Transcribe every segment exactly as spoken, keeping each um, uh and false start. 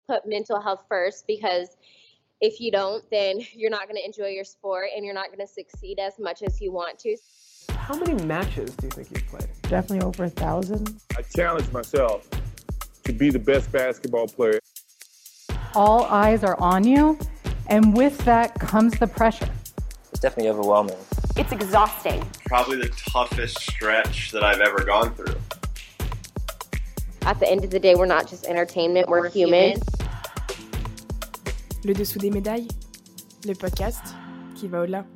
put mental health first, because if you don't, then you're not going to enjoy your sport and you're not going to succeed as much as you want to. How many matches do you think you've played? Definitely over a thousand. I challenge myself to be the best basketball player. All eyes are on you, and with that comes the pressure. It's definitely overwhelming. It's exhausting. Probably the toughest stretch that I've ever gone through. At the end of the day, we're not just entertainment, we're, we're human. Le dessous des médailles, le podcast qui va au-delà.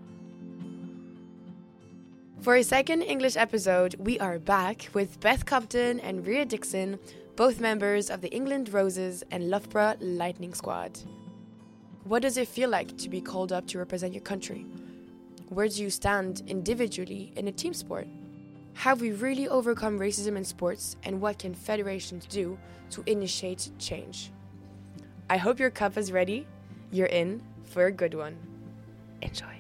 For a second English episode, we are back with Beth Cobden and Rhea Dixon, both members of the England Roses and Loughborough Lightning squad. What does it feel like to be called up to represent your country? Where do you stand individually in a team sport? Have we really overcome racism in sports, and what can federations do to initiate change? I hope your cup is ready. You're in for a good one. Enjoy.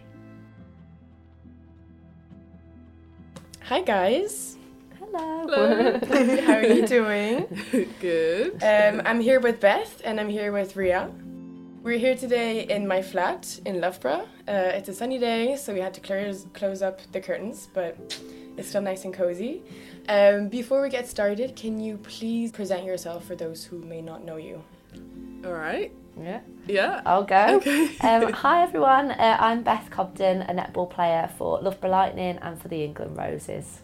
Hi guys. Hello. Hello. How are you doing? Good. Um, I'm here with Beth and I'm here with Rhea. We're here today in my flat in Loughborough. Uh, it's a sunny day, so we had to close, close up the curtains, but it's still nice and cozy. Um, before we get started, can you please present yourself for those who may not know you? All right. Yeah. Yeah. I'll go. Okay. um, hi everyone, uh, I'm Beth Cobden, a netball player for Loughborough Lightning and for the England Roses.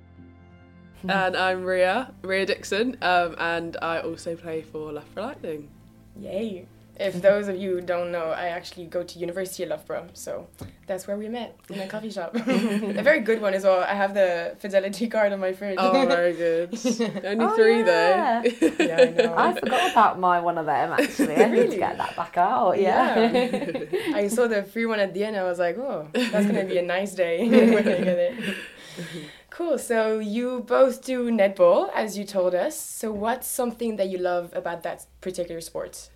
And I'm Rhea, Rhea Dixon, um, and I also play for Loughborough Lightning. Yay. If those of you who don't know, I actually go to University of Loughborough, so that's where we met, in a coffee shop. A very good one as well. I have the Fidelity card on my fridge. Oh, very good. Only Oh, three yeah. though. Yeah, I know. I forgot about my one of them actually. I need Really? to get that back out. Yeah. Yeah. I saw the free one at the end. I was like, oh, that's going to be a nice day when I get it. Cool. So you both do netball, as you told us. So what's something that you love about that particular sport?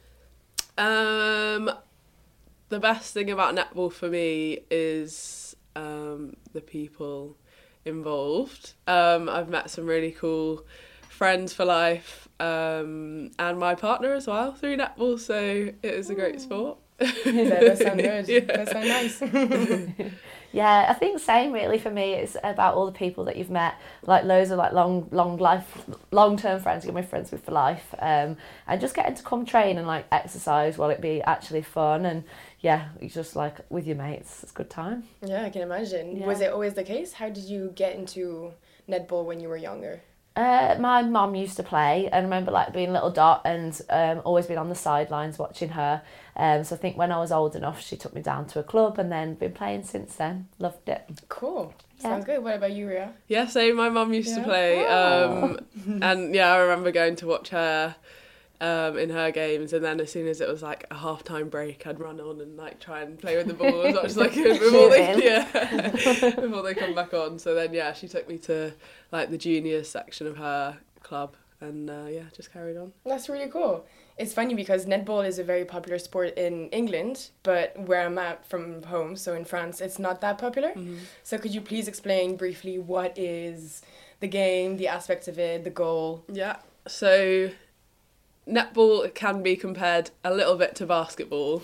Um, the best thing about netball for me is um, the people involved. Um, I've met some really cool friends for life, um, and my partner as well through netball, so it is a great sport. That does sound good. Yeah. That sounds nice. Yeah, I think same really for me. It's about all the people that you've met, like loads of like long, long life, long term friends you're my friends with for life, um, and just getting to come train and like exercise while it be actually fun, and yeah, you just like with your mates, it's a good time. Yeah, I can imagine. Yeah. Was it always the case? How did you get into netball when you were younger? Uh, my mum used to play, and I remember like being a little dot and um, always been on the sidelines watching her. Um, so I think when I was old enough, she took me down to a club and then been playing since then. Loved it. Cool. Yeah. Sounds good. What about you, Rhea? Yeah, so my mum used Yeah. to play, Oh. um, and yeah, I remember going to watch her um, in her games, and then as soon as it was like a half-time break, I'd run on and like try and play with the ball as much as I could before they, Shooting. yeah, before they come back on. So then, yeah, she took me to like the juniors section of her club, and uh, yeah, just carried on. That's really cool. It's funny because netball is a very popular sport in England, but where I'm at from home, so in France, it's not that popular. Mm-hmm. So could you please explain briefly what is the game, the aspects of it, the goal? Yeah, so netball can be compared a little bit to basketball.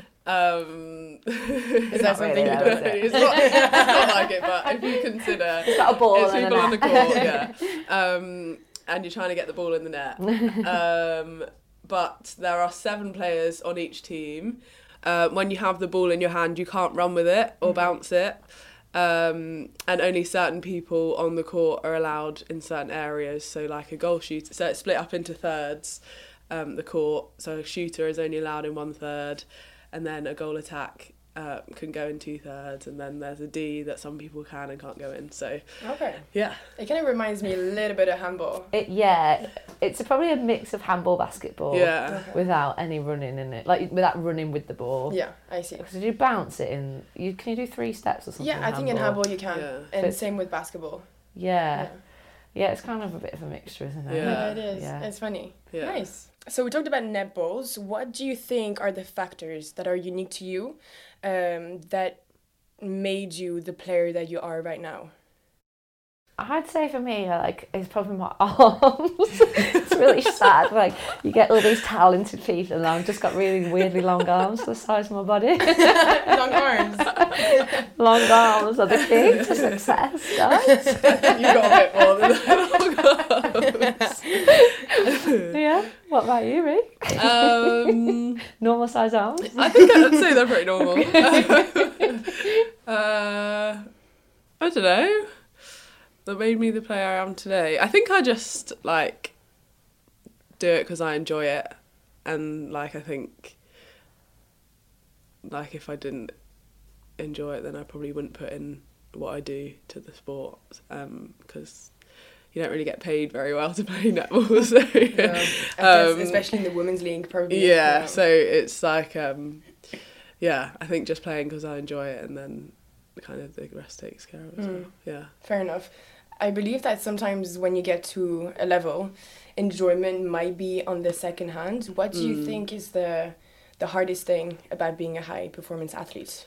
Um, Is that Not something really, you though, don't is it? it's, not, it's not like it, but if you consider It's got a ball it's and a people on the net. court, yeah, um, and you're trying to get the ball in the net. Um, but there are seven players on each team. Uh, when you have the ball in your hand, you can't run with it or bounce it. Um, and only certain people on the court are allowed in certain areas, so like a goal shooter. So it's split up into thirds, um, the court. So a shooter is only allowed in one third, and then a goal attack uh, can go in two thirds, and then there's a D that some people can and can't go in. So Okay. yeah, It kind of reminds me a little bit of handball. It, yeah, it's a, probably a mix of handball, basketball, yeah. Okay. without any running in it, like without running with the ball. Yeah, I see. So did you bounce it in? You can you do three steps or something? Yeah, I think in handball you can. Yeah. And But- same with basketball. Yeah. yeah, it's kind of a bit of a mixture, isn't it? Yeah. Yeah, it is. Yeah. It's funny. Yeah. Nice. So we talked about netballs. What do you think are the factors that are unique to you, um, that made you the player that you are right now? I'd say for me, like, it's probably my arms. To it's really sad. Like, you get all these talented people, and I've just got really weirdly long arms the size of my body. Long arms. Long arms are the key to success, guys. You got a bit more than that. Yeah. What about you, Rick? Um, Normal size arms? I think I'd say they're pretty normal. uh, I don't know. That made me the player I am today. I think I just, like, do it because I enjoy it. And, like, I think, like, if I didn't enjoy it, then I probably wouldn't put in what I do to the sport. Um, because you don't really get paid very well to play netball. So, Yeah. um, Especially in the women's league, probably. yeah, Yeah. so it's like, um, yeah, I think just playing because I enjoy it, and then kind of the rest takes care of it as well. Yeah. Fair enough. I believe that sometimes when you get to a level, enjoyment might be on the second hand. What do you Mm. think is the the hardest thing about being a high performance athlete?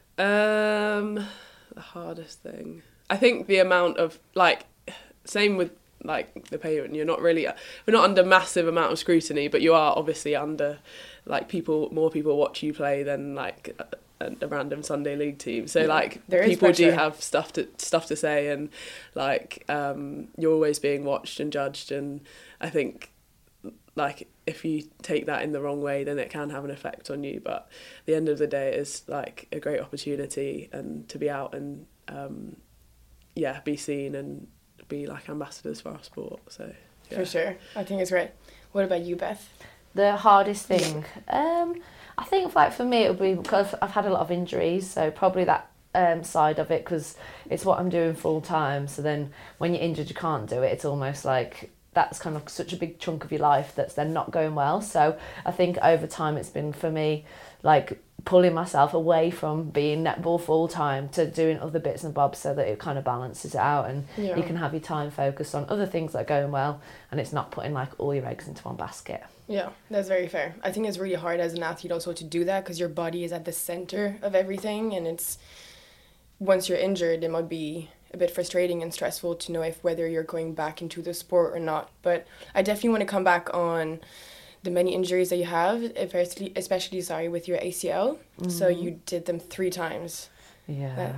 Um, the hardest thing, I think, the amount of, like, same with like the payment. You're not really, we're not under massive amount of scrutiny, but you are obviously under, like, people, more people watch you play than like a, a random Sunday league team. So, Yeah, like, there is people do pressure. have stuff to stuff to say, and, like, um, you're always being watched and judged. And I think, like, if you take that in the wrong way, then it can have an effect on you. But at the end of the day, it is, like, a great opportunity, and to be out and um, yeah, be seen and be, like, ambassadors for our sport. So yeah. For sure. I think it's great. What about you, Beth? The hardest thing, um, I think, like, for me, it would be because I've had a lot of injuries, so probably that um, side of it, because it's what I'm doing full time. So then when you're injured, you can't do it. It's almost like that's kind of such a big chunk of your life that's then not going well. So I think over time it's been, for me, like, pulling myself away from being netball full time to doing other bits and bobs, so that it kind of balances it out, and Yeah. you can have your time focused on other things that are going well, and it's not putting, like, all your eggs into one basket. Yeah, that's very fair. I think it's really hard as an athlete also to do that, because your body is at the center of everything, and it's, once you're injured, it might be a bit frustrating and stressful to know if whether you're going back into the sport or not. But I definitely want to come back on the many injuries that you have, especially, especially sorry, with your A C L. Mm-hmm. So you did them three times. Yeah. That,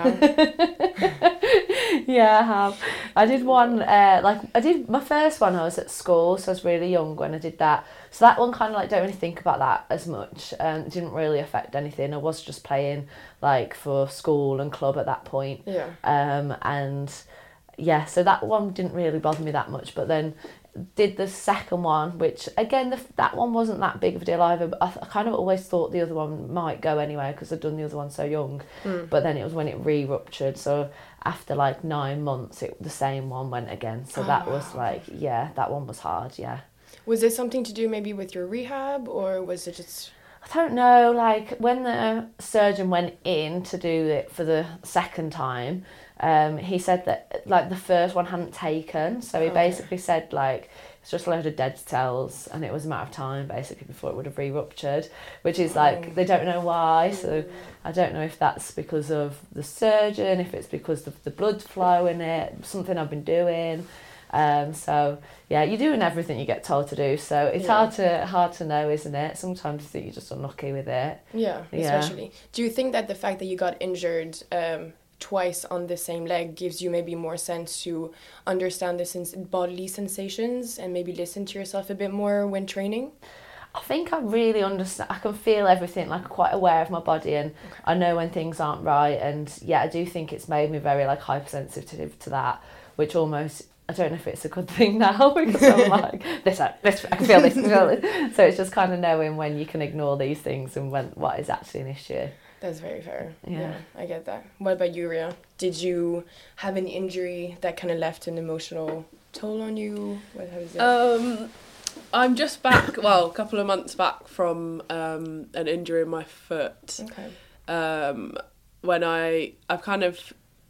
yeah. Yeah, I have. I did one, uh, like, I did my first one, I was at school, so I was really young when I did that. So that one kind of, like, don't really think about that as much, and it didn't really affect anything. I was just playing, like, for school and club at that point. Yeah. Um, and yeah, so that one didn't really bother me that much, but then did the second one, which again, the, that one wasn't that big of a deal either, but I, I kind of always thought the other one might go anyway, because I'd done the other one so young. Mm. But then it was when it re-ruptured, so after like nine months it the same one went again, so Oh, that wow. was like, yeah, that one was hard. Yeah, Was this something to do maybe with your rehab, or was it just... I don't know, like, when the surgeon went in to do it for the second time, um, he said that, like, the first one hadn't taken, so he Okay. basically said, like, it's just a load of dead cells, and it was a matter of time, basically, before it would have re-ruptured, which is, like, they don't know why, so I don't know if that's because of the surgeon, if it's because of the blood flow in it, something I've been doing. Um, so yeah, you're doing everything you get told to do, so it's Yeah. hard to hard to know, isn't it? Sometimes you think you're just unlucky with it. Yeah, Yeah. especially. Do you think that the fact that you got injured um, twice on the same leg gives you maybe more sense to understand the sens- bodily sensations and maybe listen to yourself a bit more when training? I think I really understand. I can feel everything, like, I'm quite aware of my body, and Okay. I know when things aren't right. And yeah, I do think it's made me very, like, hypersensitive to that, which almost, I don't know if it's a good thing now, because I'm like, this, this, I can feel this, I can feel this. So it's just kind of knowing when you can ignore these things and when what is actually an issue. That's very fair. Yeah. I get that. What about you, Ria? Did you have an injury that kind of left an emotional toll on you? What, how is it? Um, I'm just back, well, a couple of months back from um, an injury in my foot. Okay. Um, when I, I've kind of,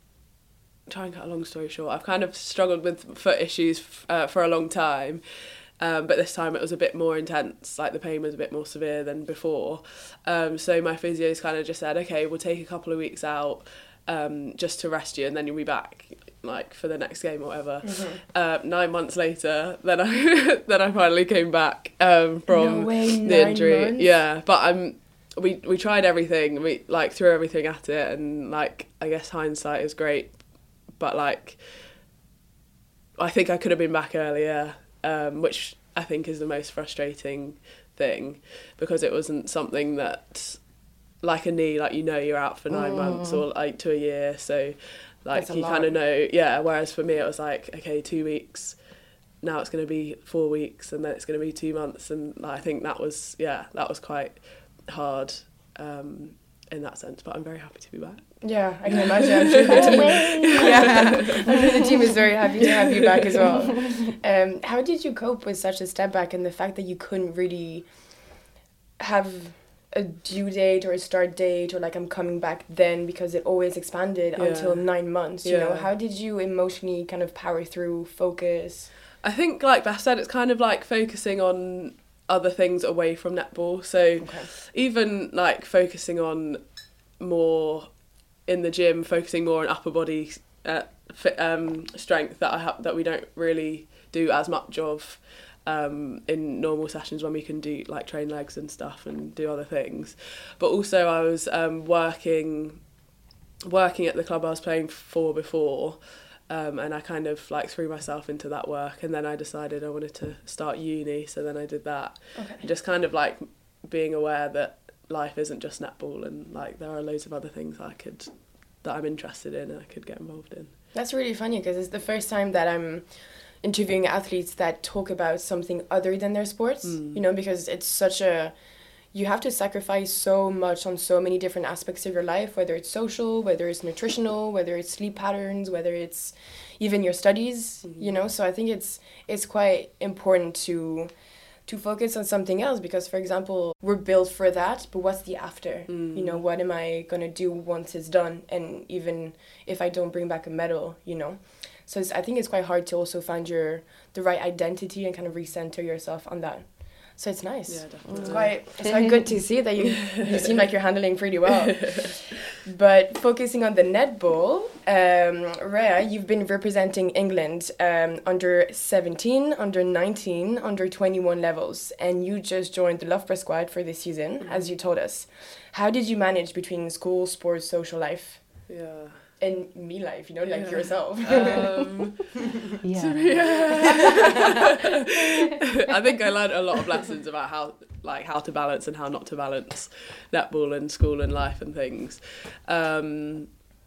try and cut a long story short, I've kind of struggled with foot issues uh, for a long time. Um, but this time it was a bit more intense, like the pain was a bit more severe than before. Um, so my physio's kind of just said, okay, we'll take a couple of weeks out um, just to rest you, and then you'll be back. like for the next game or whatever. Mm-hmm. Uh, nine months later, then I then I finally came back um, from No way, the nine injury. months? Yeah, but I'm. We we tried everything. We like threw everything at it, and like I guess hindsight is great, but like I think I could have been back earlier, um, which I think is the most frustrating thing, because it wasn't something that, like a knee, like you know you're out for nine mm. months or like to a year, so like you kind of know. Yeah. Whereas for me it was like, okay, two weeks. Now it's going to be four weeks, and then it's going to be two months, and like, I think that was yeah that was quite hard um, in that sense, but I'm very happy to be back. Yeah, I can imagine. I'm sure the team, yeah, I'm sure the team is very happy to have you back as well. Um, how did you cope with such a step back and the fact that you couldn't really have a due date or a start date or like I'm coming back then, because it always expanded yeah. until nine months, you yeah. know? How did you emotionally kind of power through, focus? I think, like Beth said, it's kind of like focusing on other things away from netball. So okay. even like focusing on more in the gym, focusing more on upper body uh, fit, um, strength that I have that we don't really do as much of um, in normal sessions when we can do like train legs and stuff and do other things. But also I was um, working working at the club I was playing for before. Um, and I kind of like threw myself into that work, and then I decided I wanted to start uni, so then I did that. Okay. And just kind of like being aware that life isn't just netball, and like there are loads of other things I could that I'm interested in and I could get involved in. That's really funny, because it's the first time that I'm interviewing athletes that talk about something other than their sports, mm. you know, because it's such a you have to sacrifice so much on so many different aspects of your life, whether it's social, whether it's nutritional, whether it's sleep patterns, whether it's even your studies, mm-hmm. you know. So I think it's it's quite important to to focus on something else, because, for example, we're built for that, but what's the after? Mm. You know, what am I going to do once it's done? And even if I don't bring back a medal, you know. So it's, I think it's quite hard to also find your the right identity and kind of recenter yourself on that. So it's nice. Yeah, definitely. It's quite, it's quite good to see that you you seem like you're handling pretty well. But focusing on the netball, um, Rhea, you've been representing England um, under seventeen, under nineteen, under twenty-one levels, and you just joined the Loughborough squad for this season, mm-hmm. as you told us. How did you manage between school, sports, social life? Yeah. And me life, you know, like yeah. yourself. Um, yeah. yeah. I think I learned a lot of lessons about how, like, how to balance and how not to balance netball and school and life and things. Um,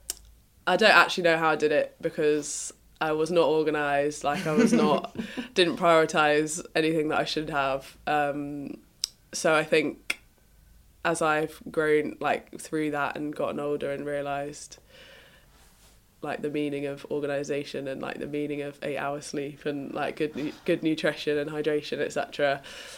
I don't actually know how I did it, because I was not organised. Like, I was not, didn't prioritise anything that I should have. Um, so I think as I've grown, like, through that and gotten older and realised like the meaning of organisation and like the meaning of eight hours sleep and like good nu- good nutrition and hydration, et cetera.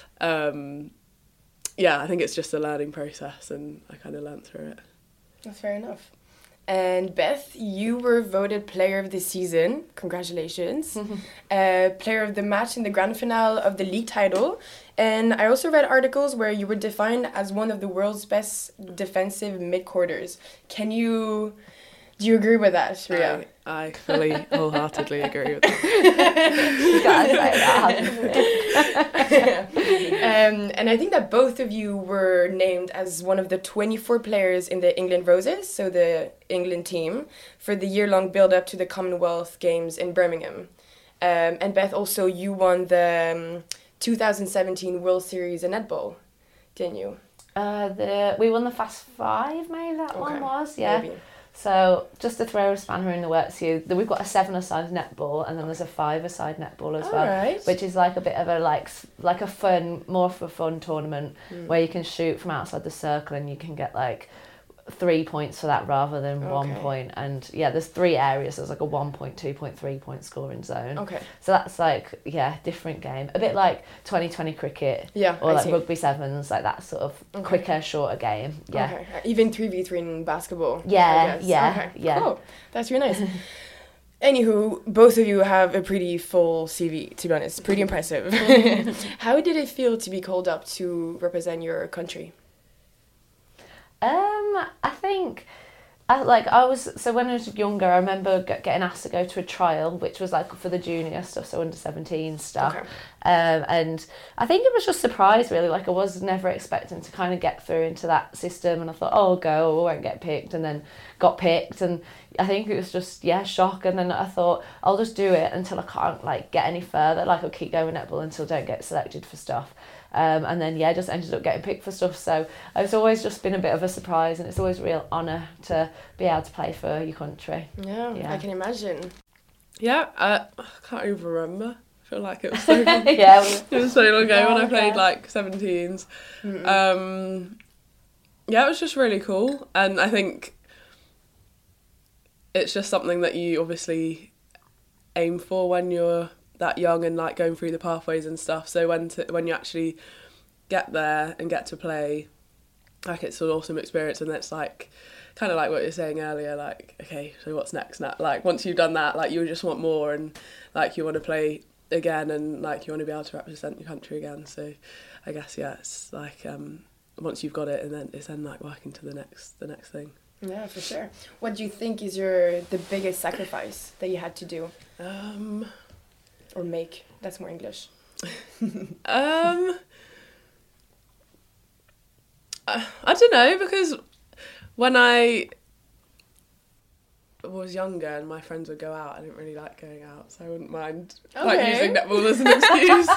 Um, yeah, I think it's just a learning process, and I kind of learnt through it. That's fair enough. And Beth, you were voted Player of the Season. Congratulations. uh, player of the Match in the grand finale of the league title. And I also read articles where you were defined as one of the world's best defensive mid-quarters. Can you... Do you agree with that, Rhea? I, I fully, wholeheartedly agree with that. You gotta say that. um, and I think that both of you were named as one of the twenty-four players in the England Roses, so the England team, for the year-long build-up to the Commonwealth Games in Birmingham. Um, and Beth, also, you won the um, two thousand seventeen World Series in netball, didn't you? Uh, the we won the Fast Five, maybe that okay. one was, yeah. Maybe. So just to throw a spanner in the works here, we've got a seven-a-side netball, and then there's a five-a-side netball as All well, right. which is like a bit of a like like a fun, more of a fun tournament mm. where you can shoot from outside the circle and you can get like three points for that rather than okay. one point. And yeah, there's three areas. There's like a one point, two point, three point scoring zone. Okay. So that's like yeah, different game. A bit like twenty twenty cricket. Yeah. Or I like see. rugby sevens, like that sort of okay. quicker, shorter game. Yeah. Okay. Even three v three in basketball. Yeah. Yeah. Okay. Yeah. Cool. That's really nice. Anywho, both of you have a pretty full C V, to be honest. Pretty impressive. How did it feel to be called up to represent your country? Um, I think I, like I was so when I was younger, I remember get, getting asked to go to a trial, which was like for the junior stuff, so under seventeen stuff. Okay. Um, and I think it was just surprise really. Like I was never expecting to kind of get through into that system, and I thought, oh, I'll go, I won't get picked, and then got picked, and I think it was just yeah shock. And then I thought I'll just do it until I can't like get any further. Like I'll keep going netball until I don't get selected for stuff. Um, and then, yeah, just ended up getting picked for stuff. So it's always just been a bit of a surprise, and it's always a real honour to be able to play for your country. Yeah, Yeah. I can imagine. Yeah, uh, I can't even remember. I feel like it was so long. Yeah, we- It was so long ago Yeah, when I played okay. like seventeens. Um, yeah, it was just really cool, and I think it's just something that you obviously aim for when you're that young and like going through the pathways and stuff. So when to, when you actually get there and get to play, like it's an awesome experience, and it's like kind of like what you were saying earlier, like okay, so what's next now? Like once you've done that, like you just want more, and like you want to play again, and like you want to be able to represent your country again. So I guess yeah, it's like um, once you've got it, and then it's then like working to the next the next thing. Yeah, for sure. What do you think is your the biggest sacrifice that you had to do Um, or make? That's more English. um, I, I don't know, because when I was younger and my friends would go out, I didn't really like going out, so I wouldn't mind like Okay. using netball as an excuse.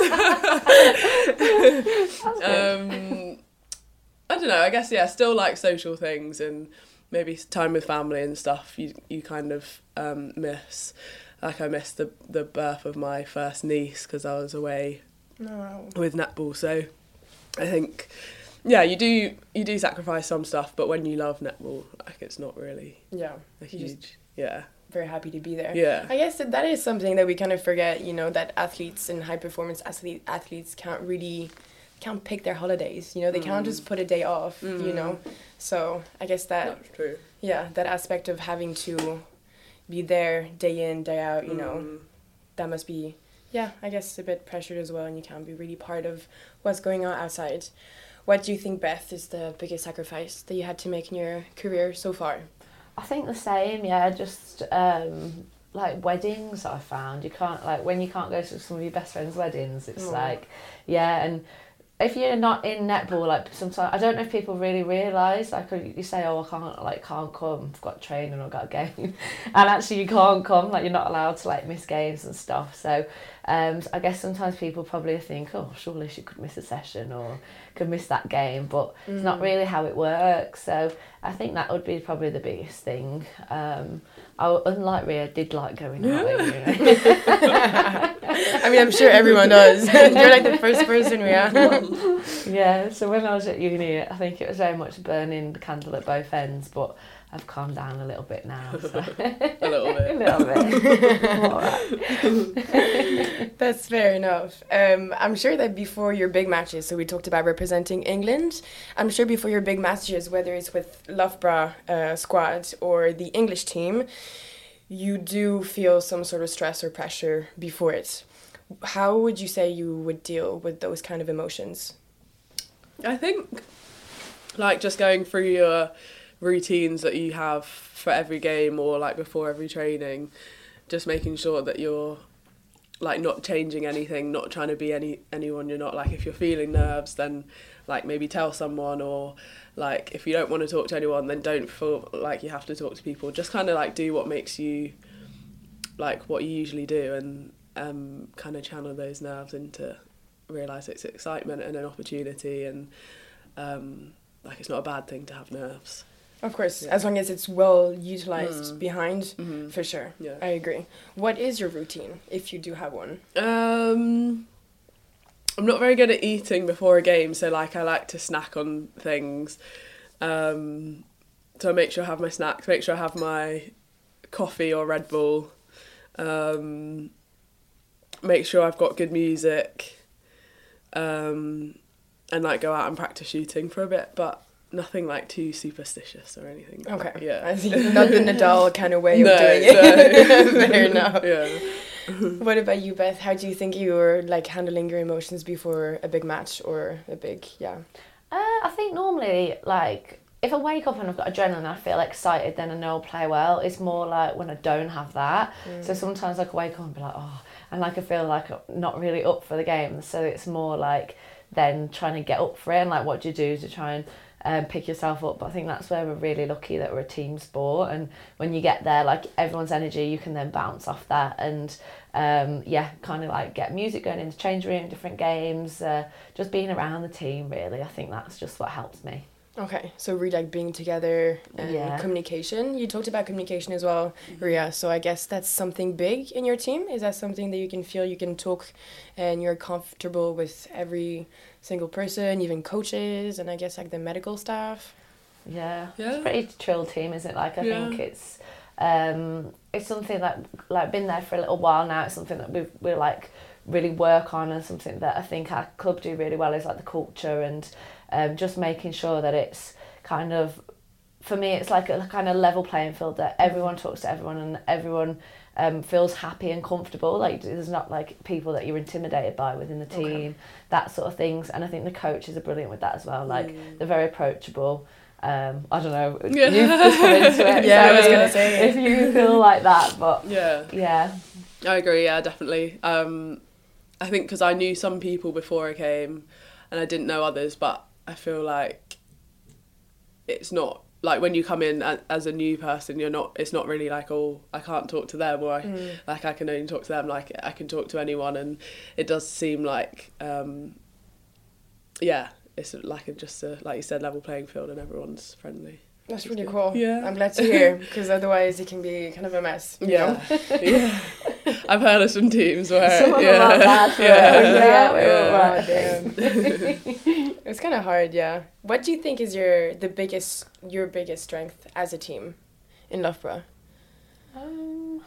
um, I don't know. I guess yeah, still like social things and maybe time with family and stuff. You you kind of um, miss. Like I missed the the birth of my first niece because I was away No. with netball. So I think yeah, you do you do sacrifice some stuff, but when you love netball, like it's not really Yeah. a You just- huge yeah Very happy to be there. yeah. I guess that that is something that we kind of forget, you know, that athletes and high performance athlete, athletes can't really can't pick their holidays, you know, they can't just put a day off, you know. So I guess that That's true. yeah, that aspect of having to be there day in, day out, you know, that must be yeah, I guess a bit pressured as well, and you can't be really part of what's going on outside. What do you think, Beth, is the biggest sacrifice that you had to make in your career so far? I think the same, yeah, just um, like weddings I found. You can't, like, when you can't go to some of your best friends' weddings, it's Oh. like, yeah, and if you're not in netball, like, sometimes, I don't know if people really realise, like, you say, oh, I can't, like, can't come, I've got training or I've got a game, and actually you can't come, like, you're not allowed to, like, miss games and stuff, so um, I guess sometimes people probably think, oh, surely she could miss a session or could miss that game, but it's not really how it works, so I think that would be probably the biggest thing. Um, I, unlike Rhea, did like going out, you know. I mean, I'm sure everyone does. You're like the first person, Rhea. Yeah, so when I was at uni, I think it was very much burning the candle at both ends, but I've calmed down a little bit now. So. A little bit. a little bit. I'm all right. That's fair enough. Um, I'm sure that before your big matches, so we talked about representing England, I'm sure before your big matches, whether it's with Loughborough uh, squad or the English team, you do feel some sort of stress or pressure before it. How would you say you would deal with those kind of emotions? I think like just going through your routines that you have for every game or like before every training, just making sure that you're like not changing anything, not trying to be any anyone you're not. Like if you're feeling nerves, then like maybe tell someone, or like if you don't want to talk to anyone, then don't feel like you have to talk to people. Just kind of like do what makes you like what you usually do, and um kind of channel those nerves into realise it's excitement and an opportunity, and um like it's not a bad thing to have nerves. Of course, Yeah. as long as it's well utilized Mm. behind, Mhm. for sure. Yeah. I agree. What is your routine, if you do have one? Um, I'm not very good at eating before a game, so like I like to snack on things. Um, so I make sure I have my snacks, make sure I have my coffee or Red Bull. Um, make sure I've got good music. Um, and like go out and practice shooting for a bit, but nothing like too superstitious or anything. Okay. Yeah. I see. Not the Nadal kind of way of No, doing it. no. Fair enough. Yeah. What about you, Beth? How do you think you were like handling your emotions before a big match or a big, yeah? Uh, I think normally, like, if I wake up and I've got adrenaline and I feel excited, then I know I'll play well. It's more like when I don't have that. Mm. So sometimes I can wake up and be like, oh, and like I feel like I'm not really up for the game. So it's more like then trying to get up for it and like what do you do to try and um, pick yourself up. But I think that's where we're really lucky that we're a team sport. And when you get there, like everyone's energy, you can then bounce off that and um, yeah, kind of like get music going in the change room, different games, uh, just being around the team really. I think that's just what helps me. Okay, so really like being together and Yeah. communication. You talked about communication as well, Ria. So I guess that's something big in your team. Is that something that you can feel you can talk and you're comfortable with every single person, even coaches, and I guess like the medical staff? Yeah, Yeah. it's a pretty chill team, isn't it? Like I Yeah. think it's um, it's something that like been there for a little while now. It's something that we we like really work on, and something that I think our club do really well is like the culture and um, just making sure that it's kind of, for me, it's like a kind of level playing field that everyone talks to everyone and everyone um, feels happy and comfortable. Like there's not like people that you're intimidated by within the team, Okay. that sort of things. And I think the coaches are brilliant with that as well. Like Mm. they're very approachable. Um, I don't know. Yeah. You've just come into it. Yeah, so I was if- gonna say. if you feel like that, but Yeah. yeah, I agree, yeah, definitely. Um, I think because I knew some people before I came and I didn't know others, but I feel like it's not, like when you come in as, as a new person, you're not, it's not really like, oh, I can't talk to them or I, Mm. like I can only talk to them, like I can talk to anyone, and it does seem like, um, yeah, it's like a, just a, like you said, level playing field and everyone's friendly. That's really cool. Yeah. I'm glad to hear, because otherwise it can be kind of a mess. You know? yeah. I've heard of some teams where some of yeah. them are bad for yeah. it. Yeah, we're Yeah. all right. Damn. It's kind of hard, yeah. What do you think is your the biggest your biggest strength as a team in Loughborough? Um,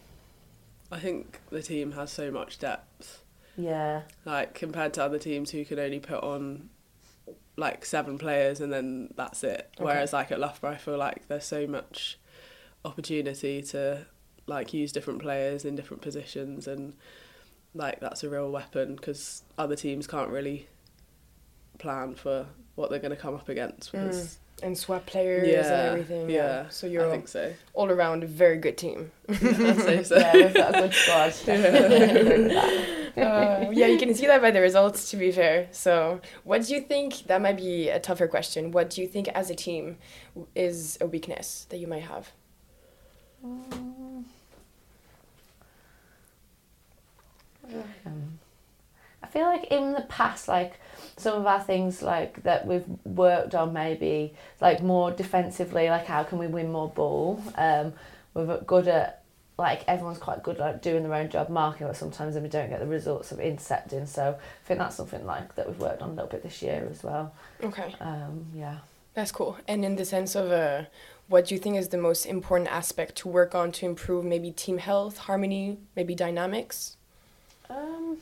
I think the team has so much depth, yeah, like compared to other teams who can only put on like seven players and then that's it. Okay. Whereas like at Loughborough, I feel like there's so much opportunity to like use different players in different positions, and like that's a real weapon because other teams can't really plan for what they're going to come up against. Because And swap players yeah, and everything. Yeah. yeah, So I you're think so. all around a very good team. I'd say so. yeah, we've got a good squad. uh, yeah, you can see that by the results, to be fair. So what do you think, that might be a tougher question, what do you think as a team is a weakness that you might have? Um, I feel like in the past, like some of our things like that we've worked on, maybe like more defensively, like how can we win more ball? Um, we're good at, like everyone's quite good at like, doing their own job marking, but sometimes then we don't get the results of intercepting. So I think that's something like that we've worked on a little bit this year as well. Okay, Um, yeah. that's cool. And in the sense of uh, what do you think is the most important aspect to work on to improve maybe team health, harmony, maybe dynamics? Um,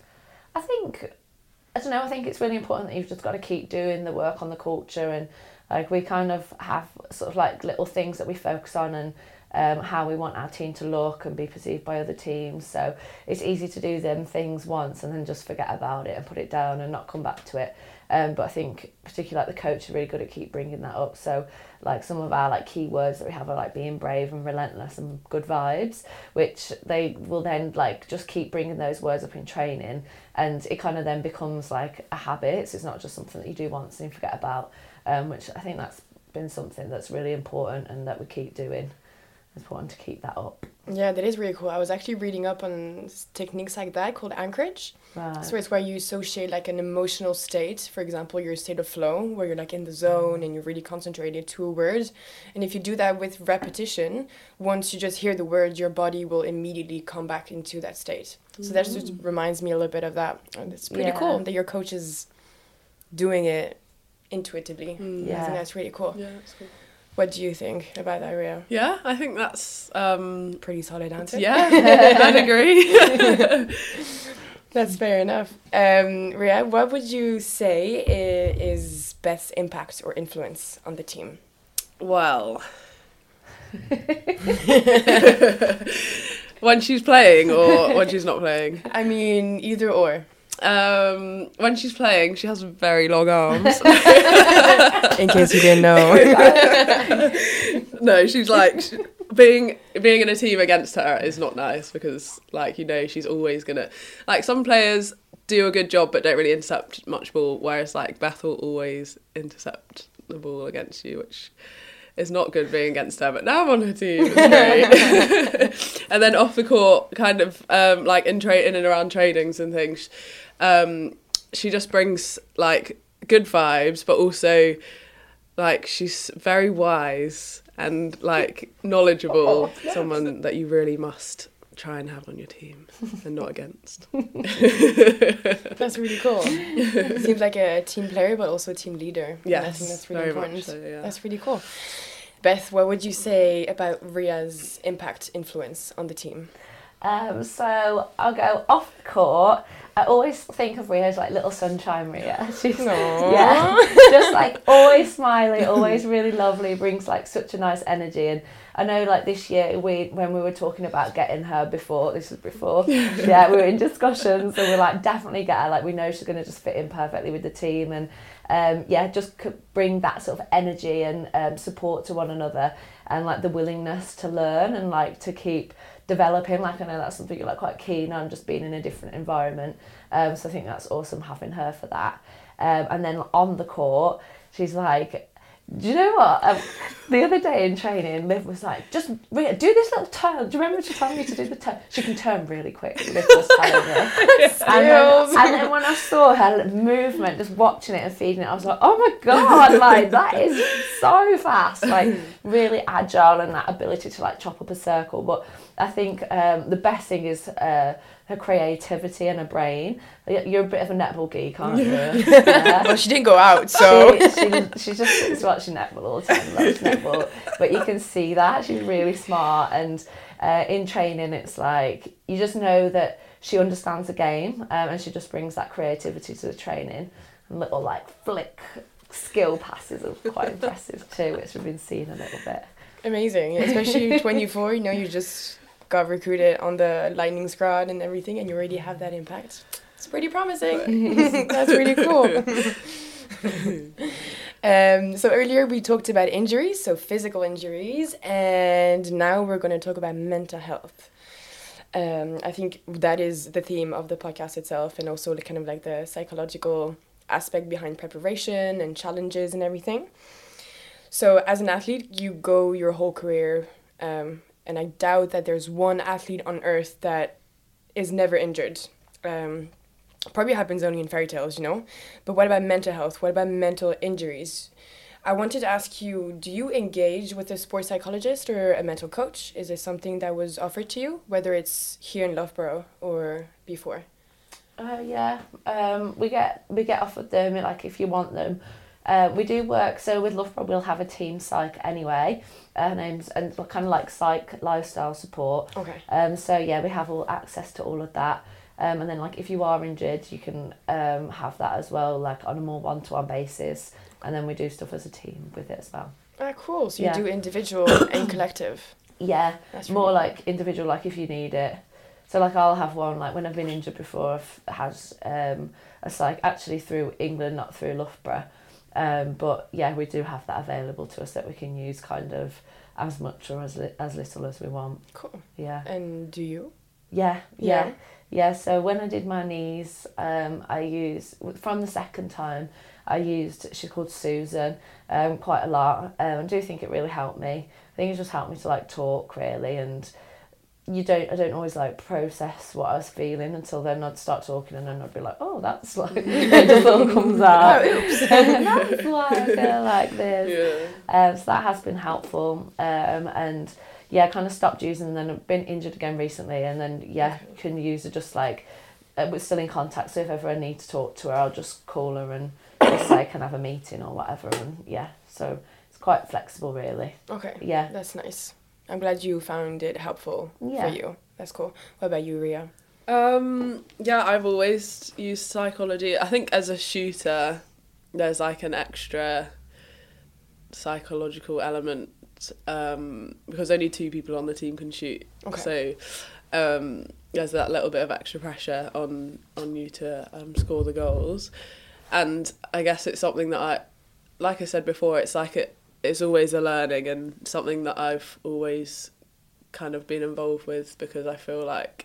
I think, I don't know, I think it's really important that you've just got to keep doing the work on the culture, and like we kind of have sort of like little things that we focus on, and um, how we want our team to look and be perceived by other teams. So it's easy to do them things once and then just forget about it and put it down and not come back to it. Um, but I think particularly like the coach is really good at keep bringing that up. So like some of our like key words that we have are like being brave and relentless and good vibes, which they will then like just keep bringing those words up in training, and it kind of then becomes like a habit. So it's not just something that you do once and you forget about, um, which I think that's been something that's really important and that we keep doing. It's important to keep that up. Yeah, that is really cool. I was actually reading up on s- techniques like that called anchorage. Right. So it's where you associate like an emotional state, for example, your state of flow, where you're like in the zone and you're really concentrated to a word. And if you do that with repetition, once you just hear the word, your body will immediately come back into that state. So that just reminds me a little bit of that. And it's pretty Yeah. cool that your coach is doing it intuitively. Mm. I Yeah. think that's really cool. Yeah, that's cool. What do you think about that, Ria? Yeah, I think that's um, Pretty solid answer. yeah, I'd agree. That's fair enough. Um, Ria, what would you say i- is Beth's impact or influence on the team? Well, when she's playing or when she's not playing. I mean, either or. Um, when she's playing, she has very long arms. In case you didn't know. No, she's like she, being being in a team against her is not nice because, like, you know, she's always gonna like some players do a good job but don't really intercept much ball, whereas like Beth will always intercept the ball against you, which is not good being against her. But now I'm on her team, it's great. And then off the court, kind of um, like in tra- in and around trainings and things, um, she just brings like good vibes, but also like she's very wise and like knowledgeable. Oh, yes. Someone that you really must try and have on your team and not against. That's really cool. Seems like a team player but also a team leader. Yes, I think that's really very important. much so, yeah. That's really cool. Beth, what would you say about Ria's impact influence on the team? Um, so I'll go off the court. I always think of Ria as like little sunshine Ria. She's Aww. yeah, just like always smiley, always really lovely, brings like such a nice energy. And I know like this year we when we were talking about getting her before, this was before, yeah, we were in discussions and we're like definitely get her, like we know she's going to just fit in perfectly with the team and um, yeah, just could bring that sort of energy and um, support to one another and like the willingness to learn and like to keep developing. Like I know that's something you're like quite keen on, just being in a different environment. Um, so I think that's awesome having her for that. Um, and then on the court, she's like, do you know what? Um, the other day in training, Liv was like, just Ria, do this little turn. Do you remember she told me to do the turn? She can turn really quick, Liv was telling me. and, then, and then when I saw her movement, just watching it and feeding it, I was like, oh my God, like that is so fast. Like really agile and that ability to like chop up a circle. But I think um, the best thing is uh, her creativity and her brain. You're a bit of a netball geek, aren't you? Yeah. Well, she didn't go out, so... She, she, she just sits watching netball all the time, loves netball. But you can see that. She's really smart. And uh, in training, it's like, you just know that she understands the game um, and she just brings that creativity to the training. And little, like, flick skill passes are quite impressive too, which we've been seeing a little bit. Amazing. Especially twenty-four, you know, you just got recruited on the Lightning squad and everything and you already have that impact. It's pretty promising. That's really cool. um, so earlier we talked about injuries, so physical injuries, and now we're going to talk about mental health. Um, I think that is the theme of the podcast itself, and also the kind of like the psychological aspect behind preparation and challenges and everything. So as an athlete, you go your whole career, um, and I doubt that there's one athlete on earth that is never injured. Um, probably happens only in fairy tales, you know? But what about mental health? What about mental injuries? I wanted to ask you, do you engage with a sports psychologist or a mental coach? Is this something that was offered to you, whether it's here in Loughborough or before? Uh, yeah, um, we get we get offered them, like if you want them. Uh, we do work, so with Loughborough we'll have a team psych anyway, uh, names and kind of like psych lifestyle support. Okay. Um, so yeah, we have all access to all of that. Um, and then like if you are injured, you can um, have that as well, like on a more one-to-one basis. And then we do stuff as a team with it as well. Ah, cool. So yeah. You do individual and collective. Yeah, That's more really like individual, like if you need it. So like I'll have one, like when I've been injured before, I've had um, a psych, actually through England, not through Loughborough. Um, but yeah, we do have that available to us that we can use kind of as much or as li- as little as we want. Cool. Yeah. And do you? Yeah, yeah, Yeah. yeah. So when I did my knees, um, I used, from the second time, I used, she's called Susan, um, quite a lot. Um, I do think it really helped me. I think it just helped me to like talk really, and you don't, I don't always like process what I was feeling until then I'd start talking and then I'd be like, oh, that's like, it just all comes out. Oh, oops. That's why I feel like this. Yeah. Um, so that has been helpful. Um, and yeah, I kind of stopped using and then I've been injured again recently and then, yeah, okay. Can use it just like, uh, we're still in contact, so if ever I need to talk to her, I'll just call her and just say, can I have a meeting or whatever, and yeah, so it's quite flexible really. Okay. Yeah. That's nice. I'm glad you found it helpful yeah. for you. That's cool. What about you, Ria? Um, yeah, I've always used psychology. I think as a shooter, there's like an extra psychological element um, because only two people on the team can shoot. Okay. So um, there's that little bit of extra pressure on on you to um, score the goals. And I guess it's something that I, like I said before, it's like it it's always a learning and something that I've always kind of been involved with, because I feel like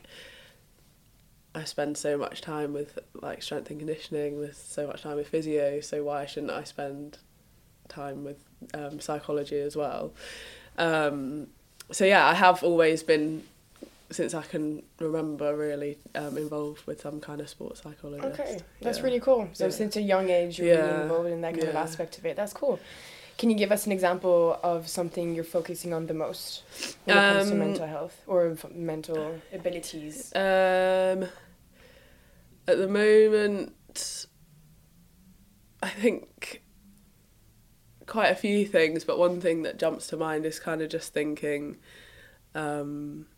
I spend so much time with like strength and conditioning, with so much time with physio, so why shouldn't I spend time with um, psychology as well? Um, so yeah, I have always been, since I can remember, really um, involved with some kind of sports psychologist. Okay, that's yeah. really cool. So yeah. since a young age, you're yeah. really involved in that kind yeah. of aspect of it. That's cool. Can you give us an example of something you're focusing on the most when it comes to Um, mental health or f- mental abilities? Um, at the moment, I think quite a few things, but one thing that jumps to mind is kind of just thinking, um,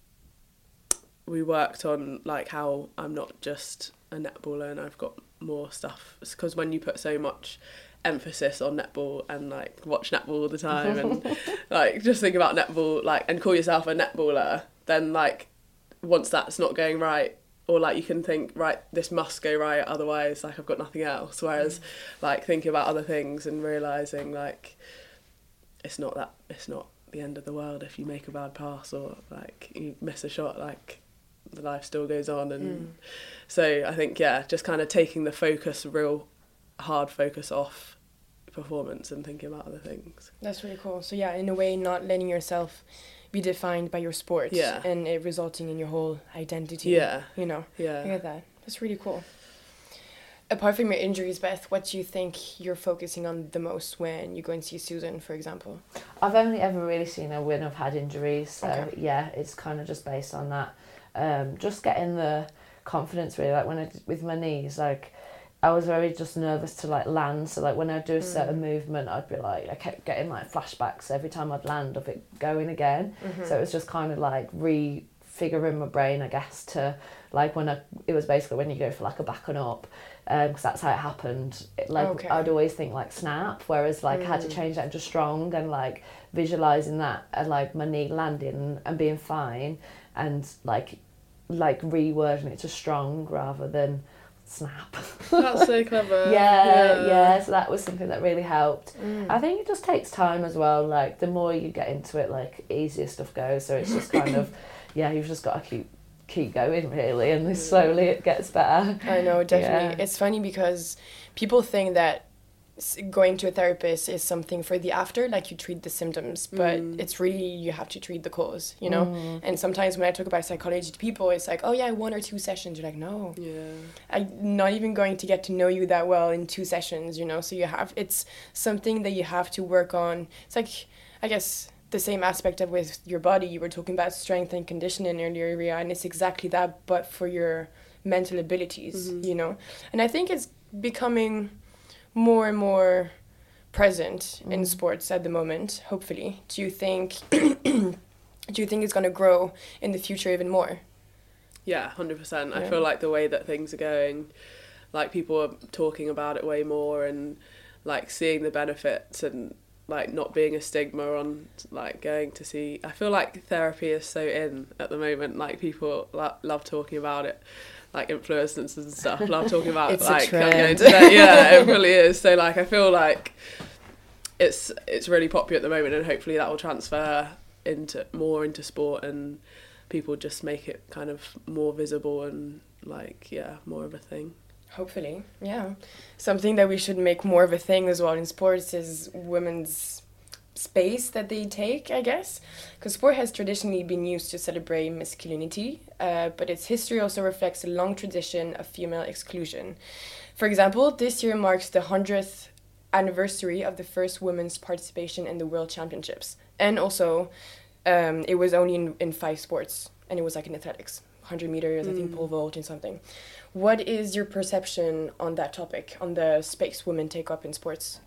we worked on like how I'm not just a netballer and I've got more stuff, because when you put so much emphasis on netball and like watch netball all the time and like just think about netball like and call yourself a netballer, then like once that's not going right, or like you can think, right, this must go right, otherwise like I've got nothing else, whereas mm. like thinking about other things and realising like it's not that it's not the end of the world if you make a bad pass or like you miss a shot, like the life still goes on. And mm. so I think yeah just kind of taking the focus, real hard focus off performance and thinking about other things. That's really cool. So yeah, in a way, not letting yourself be defined by your sport yeah. and it resulting in your whole identity. Yeah. You know. Yeah. I get that. That's really cool. Apart from your injuries, Beth, what do you think you're focusing on the most when you go and see Susan, for example? I've only ever really seen her when I've had injuries, so Okay. yeah, it's kind of just based on that. Um, just getting the confidence really, like when I did with my knees, like I was very just nervous to like land, so like when I'd do a certain mm. movement, I'd be like, I kept getting like flashbacks every time I'd land of it going again. Mm-hmm. So it was just kind of like refiguring my brain, I guess, to like when I, it was basically when you go for like a back and up, because um, that's how it happened. It, like okay. I'd always think like snap, whereas like mm. I had to change that into strong, and like visualising that and like my knee landing and being fine, and like like rewording it to strong rather than snap. That's so clever. yeah, yeah, yeah. So that was something that really helped. Mm. I think it just takes time as well. Like the more you get into it, like easier stuff goes. So it's just kind of, yeah, you've just got to keep keep going really, and slowly it gets better. I know, definitely. Yeah. It's funny because people think that going to a therapist is something for the after, like you treat the symptoms, but mm. it's really, you have to treat the cause, you know? Mm. And sometimes when I talk about psychology to people, it's like, oh yeah, one or two sessions. You're like, no. Yeah. I'm not even going to get to know you that well in two sessions, you know? So you have, it's something that you have to work on. It's like, I guess, the same aspect of with your body. You were talking about strength and conditioning earlier, Ria, and it's exactly that, but for your mental abilities, mm-hmm. you know? And I think it's becoming more and more present mm. in sports at the moment, hopefully. Do you think do you think it's going to grow in the future even more? Yeah, one hundred percent. Yeah. I feel like the way that things are going, like people are talking about it way more, and like seeing the benefits, and like not being a stigma on like going to see. I feel like therapy is so in at the moment, like people lo- love talking about it. Like influencers and stuff love talking about it's like a trend. going to that. Yeah, it really is. So like I feel like it's it's really popular at the moment, and hopefully that will transfer into more into sport, and people just make it kind of more visible and like yeah more of a thing. Hopefully, yeah. Something that we should make more of a thing as well in sports is women's space that they take, I guess, because sport has traditionally been used to celebrate masculinity, uh, but its history also reflects a long tradition of female exclusion. For example, this year marks the hundredth anniversary of the first women's participation in the World Championships, and also um, it was only in, in five sports, and it was like in athletics, one hundred meters, mm. I think pole vault and something. What is your perception on that topic, on the space women take up in sports?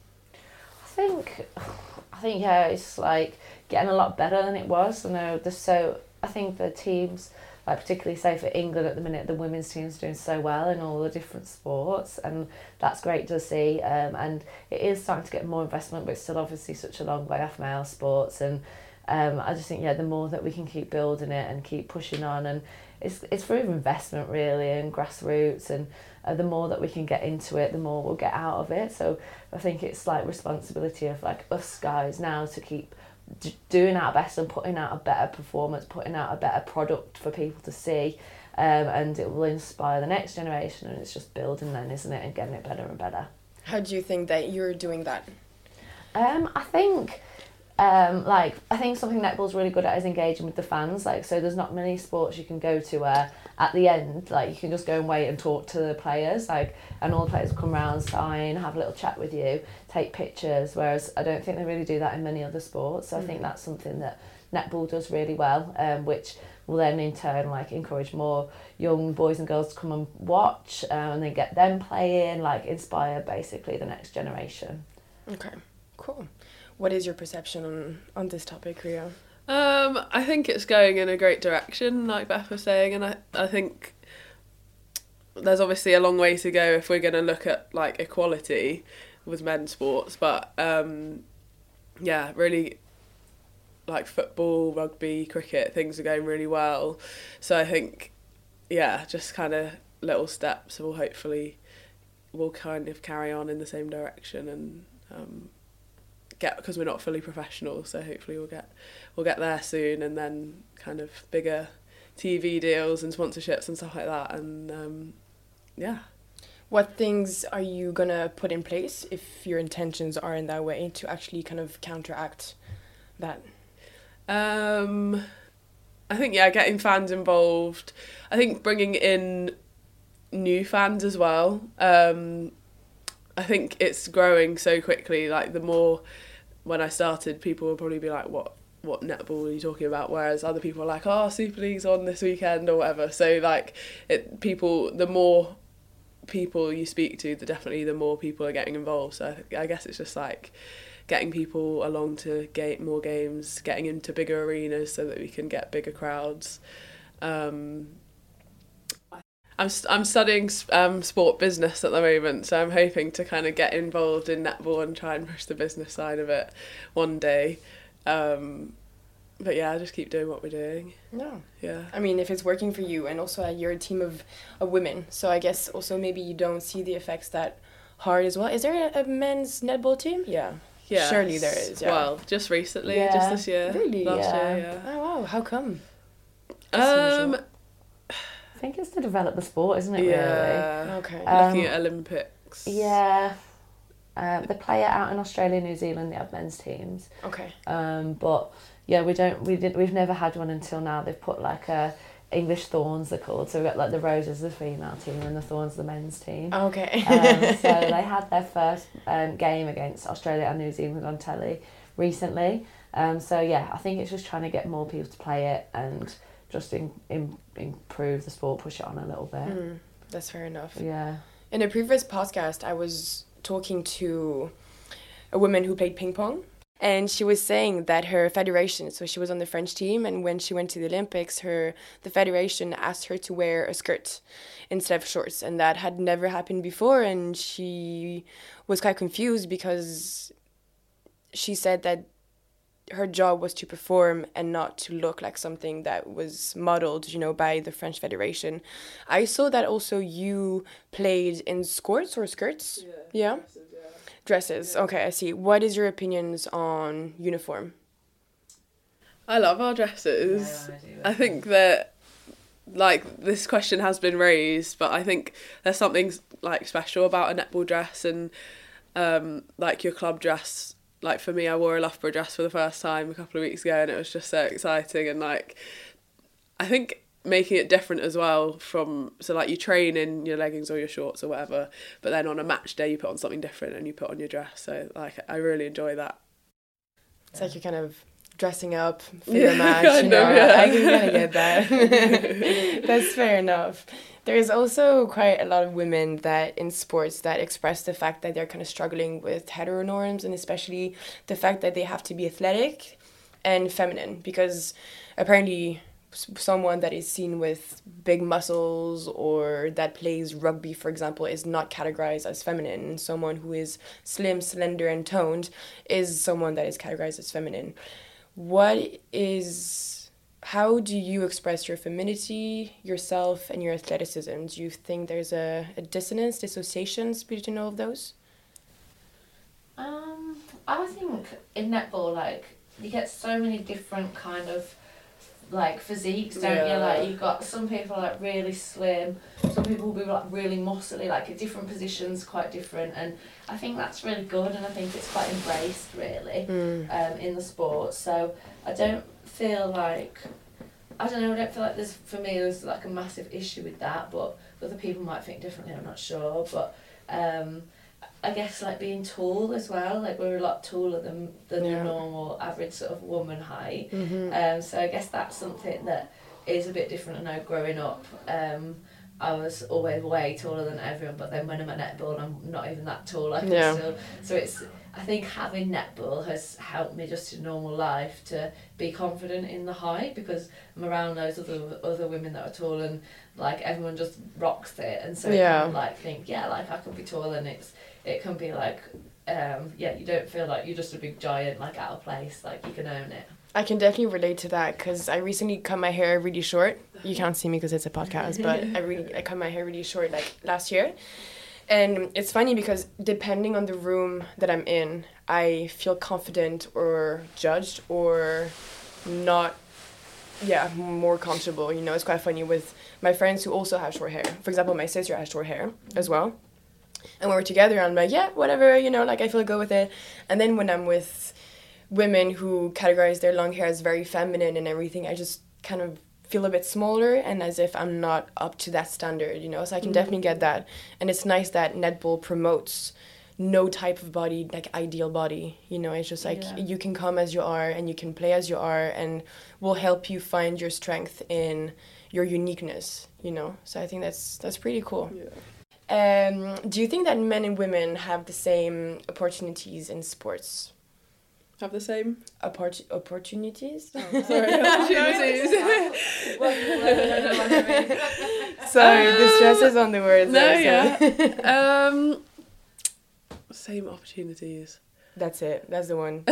I think, I think yeah, it's like getting a lot better than it was. I know there's so. I think the teams, like particularly say for England at the minute, the women's team's doing so well in all the different sports, and that's great to see. Um, and it is starting to get more investment, but it's still obviously such a long way off male sports. And Um, I just think, yeah, the more that we can keep building it and keep pushing on, and it's it's through investment really and grassroots, and uh, the more that we can get into it, the more we'll get out of it. So I think it's like responsibility of like us guys now to keep d- doing our best and putting out a better performance, putting out a better product for people to see, um, and it will inspire the next generation, and it's just building then, isn't it, and getting it better and better. How do you think that you're doing that? Um, I think, um, like, I think something netball's really good at is engaging with the fans. Like, so there's not many sports you can go to where at the end, like, you can just go and wait and talk to the players, like, and all the players will come around, sign, have a little chat with you, take pictures. Whereas I don't think they really do that in many other sports. So mm. I think that's something that netball does really well, um, which will then in turn like encourage more young boys and girls to come and watch, uh, and then get them playing, like inspire basically the next generation. Okay. Cool. What is your perception on, on this topic, Ria? Um, I think it's going in a great direction, like Beth was saying, and I, I think there's obviously a long way to go if we're going to look at like equality with men's sports, but um, yeah, really like football, rugby, cricket, things are going really well. So I think, yeah, just kind of little steps will hopefully will kind of carry on in the same direction, and um, get, because we're not fully professional, so hopefully we'll get we'll get there soon, and then kind of bigger T V deals and sponsorships and stuff like that, and um, yeah. What things are you gonna put in place if your intentions are in that way to actually kind of counteract that? Um, I think yeah, getting fans involved. I think bringing in new fans as well. Um, I think it's growing so quickly. Like the more, when I started, people would probably be like, "What, what netball are you talking about?" Whereas other people are like, "Oh, Super League's on this weekend" or whatever. So like, it people the more people you speak to, the definitely the more people are getting involved. So I, I guess it's just like getting people along to gate more games, getting into bigger arenas so that we can get bigger crowds. Um, I'm I'm studying um, sport business at the moment, so I'm hoping to kind of get involved in netball and try and push the business side of it one day. Um, but yeah, just keep doing what we're doing. No. Yeah. I mean, if it's working for you, and also uh, you're a team of, of women, so I guess also maybe you don't see the effects that hard as well. Is there a, a men's netball team? Yeah. Yeah. Surely there is. Yeah. Well, just recently, Yeah. just this year. Really? Last Yeah. year, yeah. Oh wow, how come? Um, I think it's to develop the sport, isn't it, yeah. really? Okay. Um, Looking at Olympics. Yeah. Um, they play it out in Australia, New Zealand, they have men's teams. Okay. Um, but yeah, we don't, we did, we've never had one until now. They've put like a English Thorns, they're called. So we've got like the Roses, the female team, and the Thorns, the men's team. Okay. um, so they had their first um, game against Australia and New Zealand on telly recently. Um, so yeah, I think it's just trying to get more people to play it and just in, in, improve the sport, push it on a little bit. Mm, that's fair enough. Yeah. In a previous podcast, I was talking to a woman who played ping pong, and she was saying that her federation, so she was on the French team, and when she went to the Olympics, her the federation asked her to wear a skirt instead of shorts, and that had never happened before, and she was quite confused because she said that her job was to perform and not to look like something that was modeled, you know, by the French Federation. I saw that also you played in skirts or skirts? Yeah. Yeah? Dresses, yeah. Dresses. Yeah. Okay, I see. What is your opinions on uniform? I love our dresses. Yeah, I do. I think that, like, this question has been raised, but I think there's something, like, special about a netball dress and, um, like, your club dress. Like, for me, I wore a Loughborough dress for the first time a couple of weeks ago, and it was just so exciting. And, like, I think making it different as well from, so, like, you train in your leggings or your shorts or whatever, but then on a match day, you put on something different and you put on your dress. So, like, I really enjoy that. It's like you're kind of dressing up for Yeah, your match, you kind know. of, yeah. I can kind of get that. That's fair enough. There's also quite a lot of women that in sports that express the fact that they're kind of struggling with heteronorms, and especially the fact that they have to be athletic and feminine, because apparently someone that is seen with big muscles or that plays rugby, for example, is not categorized as feminine, and someone who is slim, slender, and toned is someone that is categorized as feminine. what is, how do you express your femininity, yourself, and your athleticism? Do you think there's a, a dissonance, dissociations between all of those? Um, I think in netball, like, you get so many different kind of, like, physiques, don't Yeah. you? Like, you've got some people, like, really slim, some people will be, like, really muscly, like, at different positions, quite different, and I think that's really good, and I think it's quite embraced, really, Mm. um, in the sport, so I don't feel like, I don't know, I don't feel like there's, for me, there's, like, a massive issue with that, but other people might think differently, I'm not sure, but, um... I guess like being tall as well, like we're a lot taller than than Yeah. the normal average sort of woman height. Mm-hmm. Um, so I guess that's something that is a bit different. I know growing up, um, I was always way taller than everyone, but then when I'm at netball, I'm not even that tall. I can Yeah. still. So it's. I think having netball has helped me just in normal life to be confident in the height because I'm around those other other women that are tall and like everyone just rocks it, and so Yeah. you can like think yeah like I can be tall and it's it can be like um yeah you don't feel like you're just a big giant like out of place, like you can own it. I can definitely relate to that because I recently cut my hair really short. You can't see me because it's a podcast, but I really I cut my hair really short like last year. And it's funny because depending on the room that I'm in, I feel confident or judged or not, yeah, more comfortable. You know, it's quite funny with my friends who also have short hair. For example, my sister has short hair as well. And when we're together, I'm like, yeah, whatever, you know, like I feel good with it. And then when I'm with women who categorize their long hair as very feminine and everything, I just kind of feel a bit smaller and as if I'm not up to that standard, you know, so I can mm-hmm. definitely get that. And it's nice that netball promotes no type of body, like ideal body, you know, it's just like yeah. you can come as you are and you can play as you are and will help you find your strength in your uniqueness, you know, so I think that's that's pretty cool. Yeah. Um, do you think that men and women have the same opportunities in sports? Have the same Oppor- opportunities? Oh, sorry, opportunities. Sorry, the stress is on the words. No, there, yeah. um, same opportunities. That's it. That's the one.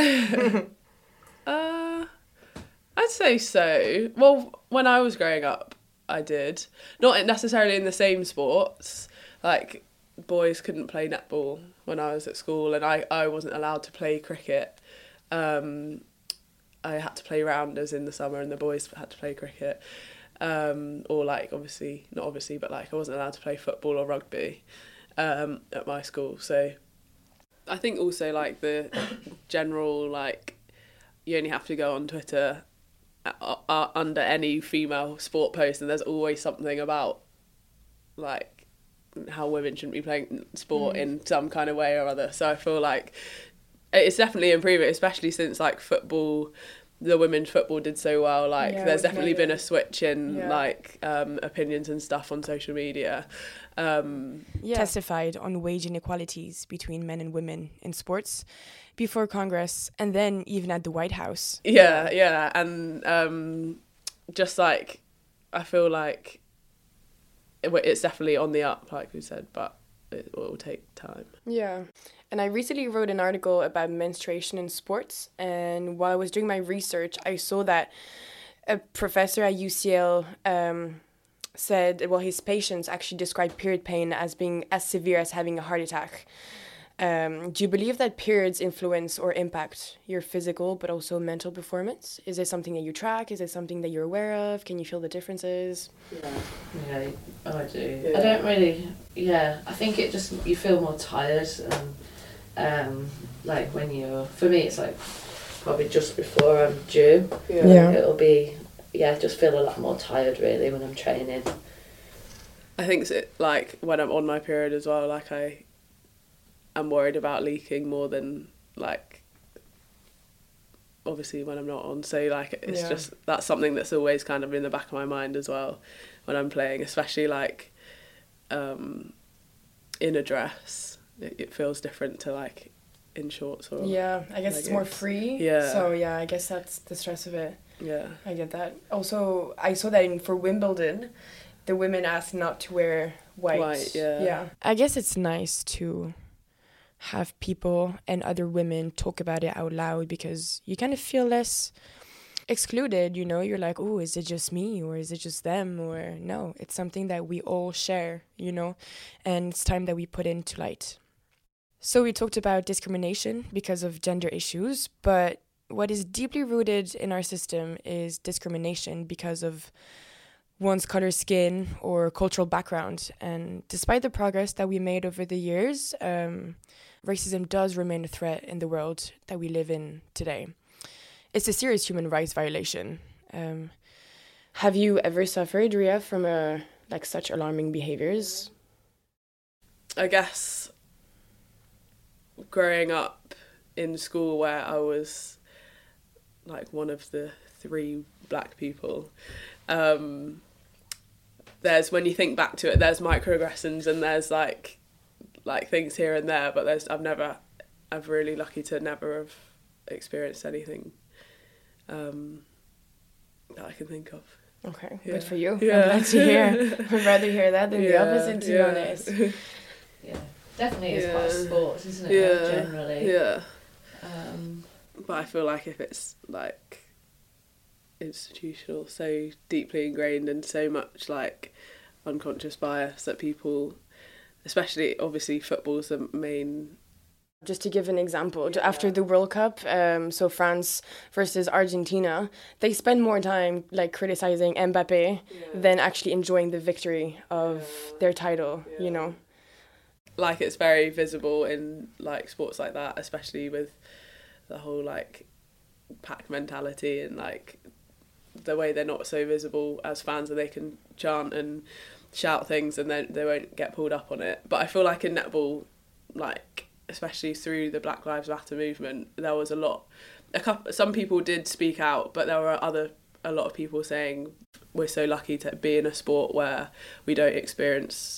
uh, I'd say so. Well, when I was growing up, I did. Not necessarily in the same sports. Like, boys couldn't play netball when I was at school, and I, I wasn't allowed to play cricket. Um, I had to play rounders in the summer and the boys had to play cricket. Um, or like, obviously, not obviously, but like I wasn't allowed to play football or rugby um, at my school. So I think also like the general, like, you only have to go on Twitter uh, uh, under any female sport post and there's always something about like how women shouldn't be playing sport mm. in some kind of way or other. So I feel like it's definitely improving, especially since like football, the women's football did so well. Like yeah, there's definitely been it. a switch in yeah. like um, opinions and stuff on social media. Um, yeah. Testified on wage inequalities between men and women in sports before Congress and then even at the White House. Yeah, yeah, and um, just like I feel like it, it's definitely on the up, like we said, but it will take time. Yeah. And I recently wrote an article about menstruation in sports, and while I was doing my research, I saw that a professor at U C L um, said, well, his patients actually described period pain as being as severe as having a heart attack. Um, do you believe that periods influence or impact your physical but also mental performance? Is it something that you track? Is it something that you're aware of? Can you feel the differences? Yeah, yeah, oh, I do. Yeah. I don't really, yeah, I think it just, you feel more tired. Um, um, like when you're, for me it's like probably just before I'm due. Yeah. Yeah. It'll be, yeah, I just feel a lot more tired really when I'm training. I think it's like when I'm on my period as well, like I am worried about leaking more than like obviously when I'm not on. So like it's yeah. just, that's something that's always kind of in the back of my mind as well when I'm playing, especially like um, in a dress. It, it feels different to like in shorts or yeah I guess leggings. It's more free, yeah so yeah I guess that's the stress of it. Yeah, I get that. Also, I saw that in, for Wimbledon, the women asked not to wear white. White, yeah. Yeah. I guess it's nice to have people and other women talk about it out loud, because you kind of feel less excluded, you know? You're like, oh, is it just me, or is it just them? Or no, it's something that we all share, you know? And it's time that we put into light. So we talked about discrimination because of gender issues, but what is deeply rooted in our system is discrimination because of one's color, skin, or cultural background. And despite the progress that we made over the years, um, racism does remain a threat in the world that we live in today. It's a serious human rights violation. Um, have you ever suffered, Ria, from a, like such alarming behaviors? I guess growing up in school where I was like one of the three black people, um, there's, when you think back to it, there's microaggressions and there's like like things here and there, but there's I've never, I'm really lucky to never have experienced anything um, that I can think of. Okay, Yeah. good for you. Yeah. I'm glad to hear. I'd rather hear that than yeah, the opposite, to yeah. be honest. Yeah, definitely is Yeah. part of sports, isn't it? Yeah, Like, generally. yeah. Um, But I feel like if it's like institutional, so deeply ingrained and so much like unconscious bias that people, especially obviously football's the main. Just to give an example, yeah. After the World Cup, um, so France versus Argentina, they spend more time like criticizing Mbappe yeah. than actually enjoying the victory of yeah. their title, yeah. you know. Like it's very visible in like sports like that, especially with the whole like pack mentality and like the way they're not so visible as fans and they can chant and shout things and then they won't get pulled up on it. But I feel like in netball, like especially through the Black Lives Matter movement, there was a lot, a couple, some people did speak out, but there were other, a lot of people saying we're so lucky to be in a sport where we don't experience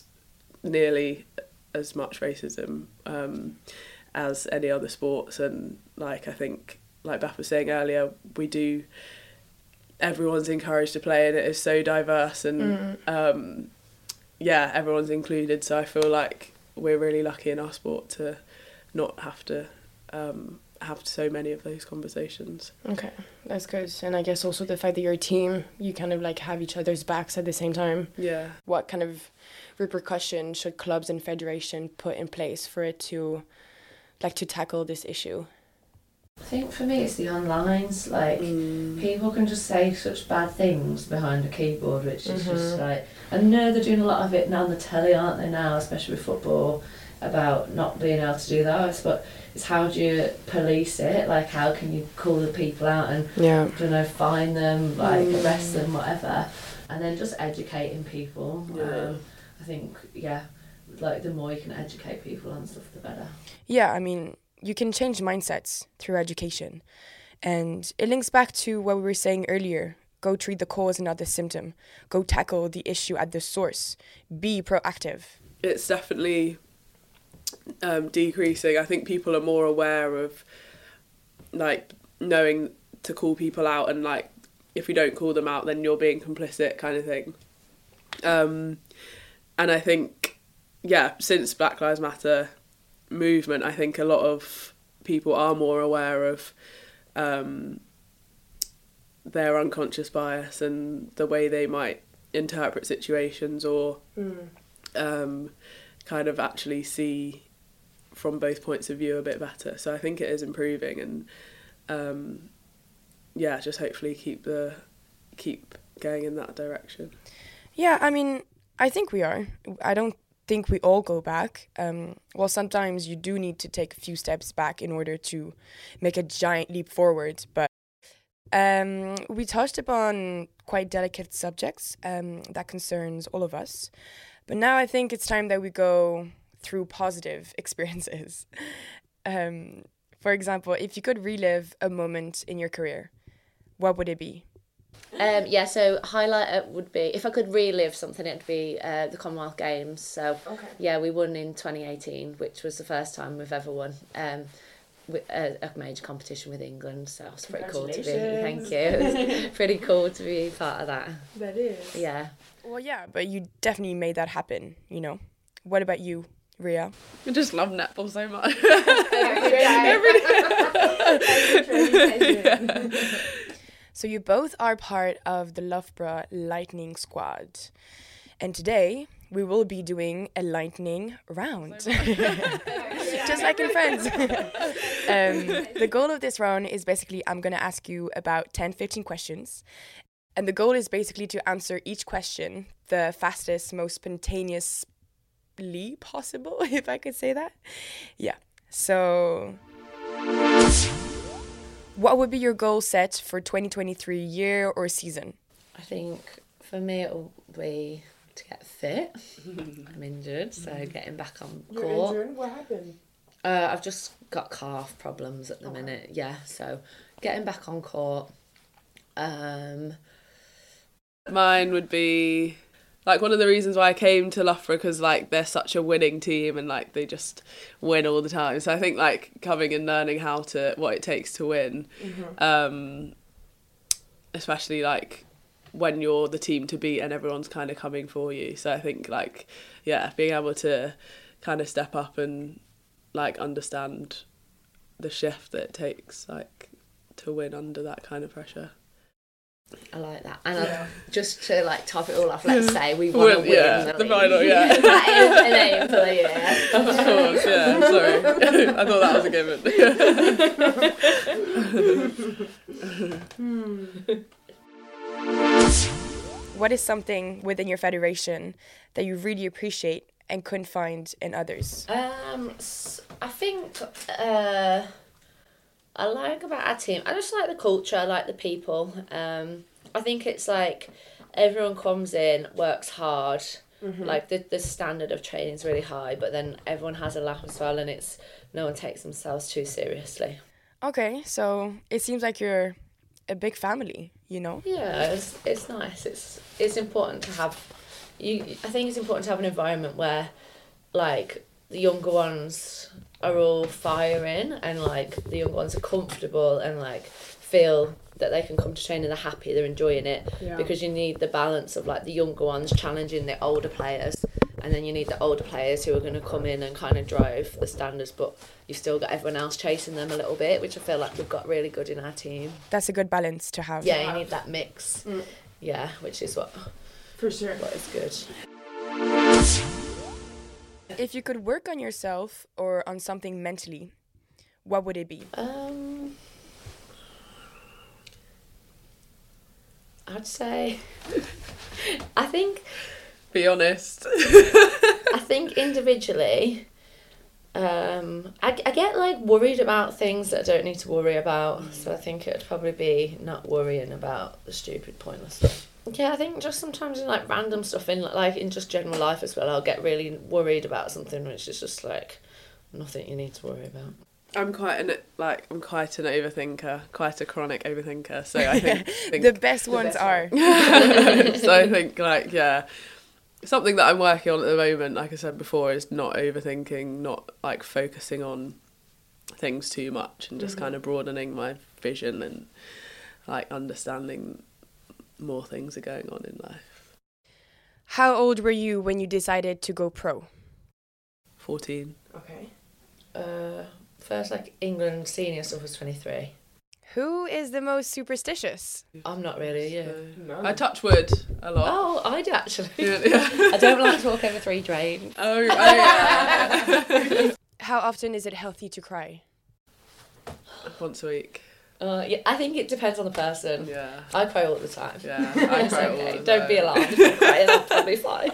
nearly as much racism um, as any other sports. And like I think, like Beth was saying earlier, we do, everyone's encouraged to play and it is so diverse and mm. um, yeah, everyone's included. So I feel like we're really lucky in our sport to not have to um, have so many of those conversations. Okay, that's good. And I guess also the fact that you're a team, you kind of like have each other's backs at the same time. Yeah. What kind of repercussion should clubs and federation put in place for it to like to tackle this issue? I think for me it's the onlines, like mm. people can just say such bad things behind a keyboard, which is mm-hmm. just like, I know they're doing a lot of it now on the telly, aren't they now, especially with football, about not being able to do that, but it's how do you police it, like how can you call the people out and yeah. I don't know, fine them, like mm. arrest them, whatever, and then just educating people. Yeah. Um, I think, yeah, like the more you can educate people on stuff, the better. Yeah, I mean, you can change mindsets through education. And it links back to what we were saying earlier. Go treat the cause and not the symptom. Go tackle the issue at the source. Be proactive. It's definitely um, decreasing. I think people are more aware of like knowing to call people out and like if you don't call them out then you're being complicit kind of thing. Um, and I think, yeah, since Black Lives Matter movement, I think a lot of people are more aware of um, their unconscious bias and the way they might interpret situations or mm. um, kind of actually see from both points of view a bit better. So I think it is improving and um, yeah, just hopefully keep the keep going in that direction. Yeah, I mean, I think we are. I don't think we all go back. Um, well, sometimes you do need to take a few steps back in order to make a giant leap forward. But um, we touched upon quite delicate subjects um, that concerns all of us. But now I think it's time that we go through positive experiences. um, for example, if you could relive a moment in your career, what would it be? Um, yeah, so highlight would be, if I could relive something, it'd be uh, the Commonwealth Games. So, okay. yeah, we won in twenty eighteen, which was the first time we've ever won um, a, a major competition with England. So it was pretty cool to be, thank you. It was pretty cool to be part of that. That is. Yeah. Well, yeah, but you definitely made that happen, you know. What about you? Ria? I just love netball so much. Every day. So you both are part of the Loughborough Lightning Squad. And today we will be doing a lightning round. Just like in Friends. um, the goal of this round is basically I'm going to ask you about ten, fifteen questions. And the goal is basically to answer each question the fastest, most spontaneously possible, if I could say that. Yeah. So what would be your goal set for twenty twenty-three year or season? I think for me it'll be to get fit. I'm injured, so getting back on court. You're injured? What happened? Uh, I've just got calf problems at the okay. minute. Yeah, so getting back on court. Um, Mine would be like one of the reasons why I came to Loughborough, because like they're such a winning team and like they just win all the time. So I think like coming and learning how to what it takes to win, mm-hmm. um, especially like when you're the team to beat and everyone's kind of coming for you. So I think like yeah, being able to kind of step up and like understand the shift that it takes like to win under that kind of pressure. I like that. And yeah. I, just to like top it all off, let's say we want to win yeah, the, the final, yeah. That is an aim for the year. Of course, yeah, sorry. I thought that was a given. What is something within your federation that you really appreciate and couldn't find in others? Um, I think uh, I like about our team, I just like the culture, I like the people. Um, I think it's like everyone comes in, works hard, mm-hmm. like the, the standard of training is really high, but then everyone has a laugh as well, and it's no one takes themselves too seriously. Okay, so it seems like you're a big family, you know? Yeah, it's it's nice. It's it's important to have. You, I think it's important to have an environment where, like, the younger ones are all firing and, like, the younger ones are comfortable and, like, feel that they can come to training, they're happy, they're enjoying it. Yeah. Because you need the balance of, like, the younger ones challenging the older players, and then you need the older players who are going to come in and kind of drive the standards, but you've still got everyone else chasing them a little bit, which I feel like we've got really good in our team. That's a good balance to have. Yeah, you need that mix. Mm. Yeah, which is what... For sure. What is good. If you could work on yourself or on something mentally, what would it be? Um, I'd say... I think... Be honest. I think individually... Um, I, I get like worried about things that I don't need to worry about. Mm. So I think it would probably be not worrying about the stupid, pointless stuff. Yeah, I think just sometimes in like random stuff in like in just general life as well, I'll get really worried about something which is just like nothing you need to worry about. I'm quite an like I'm quite an overthinker, quite a chronic overthinker. So I think, think the best ones the best are. One. So I think like yeah. Something that I'm working on at the moment, like I said before, is not overthinking, not like focusing on things too much, and just mm-hmm. kind of broadening my vision and like understanding more things are going on in life. How old were you when you decided to go pro? fourteen. Okay. Uh, first like England senior stuff was twenty-three. Who is the most superstitious? I'm not really, yeah. No. I touch wood a lot. Oh, I do actually. Yeah, yeah. I don't like to walk over three drains. Oh, oh yeah. How often is it healthy to cry? Once a week. Uh, yeah, I think it depends on the person. Yeah. I cry all the time. Yeah, I cry okay. all the time. Don't be alarmed if I'm crying, I'll probably fly.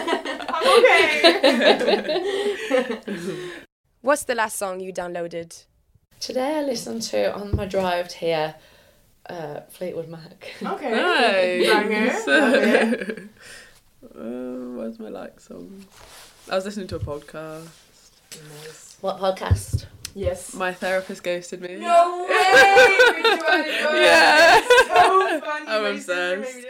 I'm okay. What's the last song you downloaded? Today I listened to, on my drive here, uh, Fleetwood Mac. Okay. Nice. Okay. uh, where's my like song? I was listening to a podcast. Nice. What podcast? Yes. My therapist ghosted me. No way! Yeah. So funny. I'm obsessed.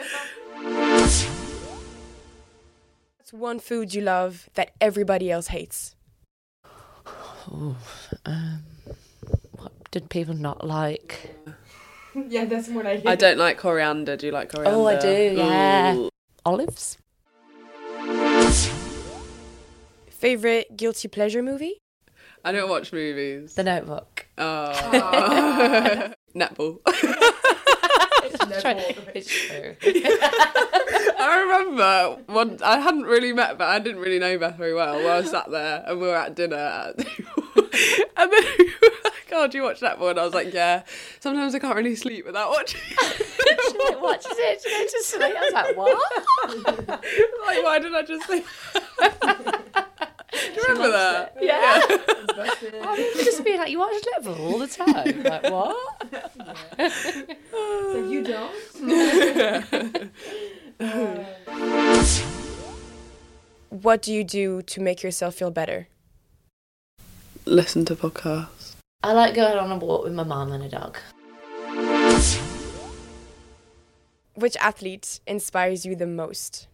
What's one food you love that everybody else hates? Oh, um... did people not like? Yeah, that's more like it. I don't like coriander. Do you like coriander? Oh, I do, yeah. Ooh. Olives? Favorite guilty pleasure movie? I don't watch movies. The Notebook. Oh. Netball. It's true. I remember one. I hadn't really met, but I didn't really know Beth very well. Well, I was sat there and we were at dinner, at and then we were like, "Oh, do you watch Netball?" And I was like, "Yeah." Sometimes I can't really sleep without watching. She watches it. She goes to sleep. I was like, what? Like, why did I just say? Do you remember that? It. Yeah. yeah. I remember just being like, you watch Netball all the time. Like, what? So you don't? What do you do to make yourself feel better? Listen to podcasts. I like going on a walk with my mum and a dog. Which athlete inspires you the most?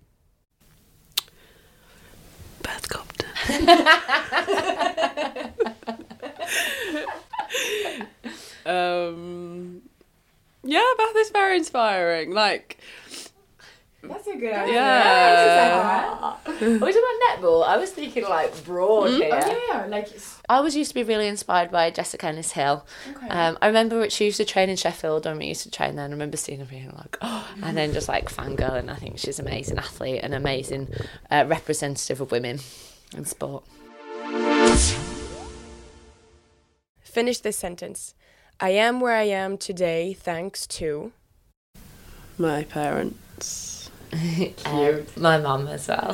Beth Compton. um, yeah, Beth is very inspiring. Like, that's a good idea. Yeah. Are we talking about netball? I was thinking like broad here. Oh, yeah, like. I always used to be really inspired by Jessica Ennis-Hill. Okay. Um, I remember she used to train in Sheffield when we used to train there, and I remember seeing her being like, oh, and then just like fangirling. I think she's an amazing athlete, an amazing uh, representative of women in sport. Finish this sentence. I am where I am today thanks to... My parents. um, my mum as well.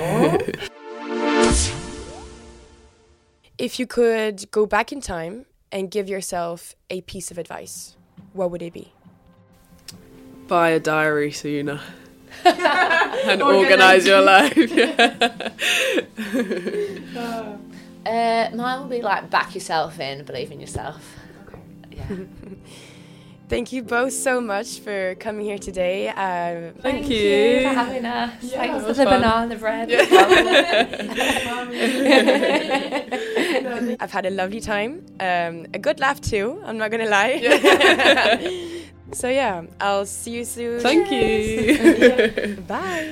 If you could go back in time and give yourself a piece of advice, what would it be? Buy a diary sooner. And organise your life. uh, mine would be like back yourself in, believe in yourself. Okay. Yeah. Thank you both so much for coming here today. Um, Thank, Thank you. you for having us. Yeah, Thanks for the fun. banana bread. Yeah. I've had a lovely time. Um, a good laugh too, I'm not going to lie. Yeah. So yeah, I'll see you soon. Thank you. Bye.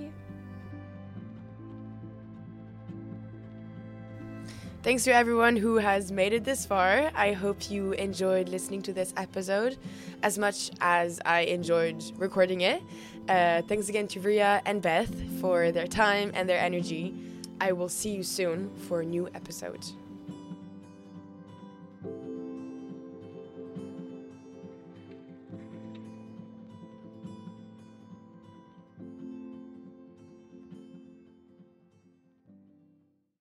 Thanks to everyone who has made it this far. I hope you enjoyed listening to this episode as much as I enjoyed recording it. Uh, thanks again to Ria and Beth for their time and their energy. I will see you soon for a new episode.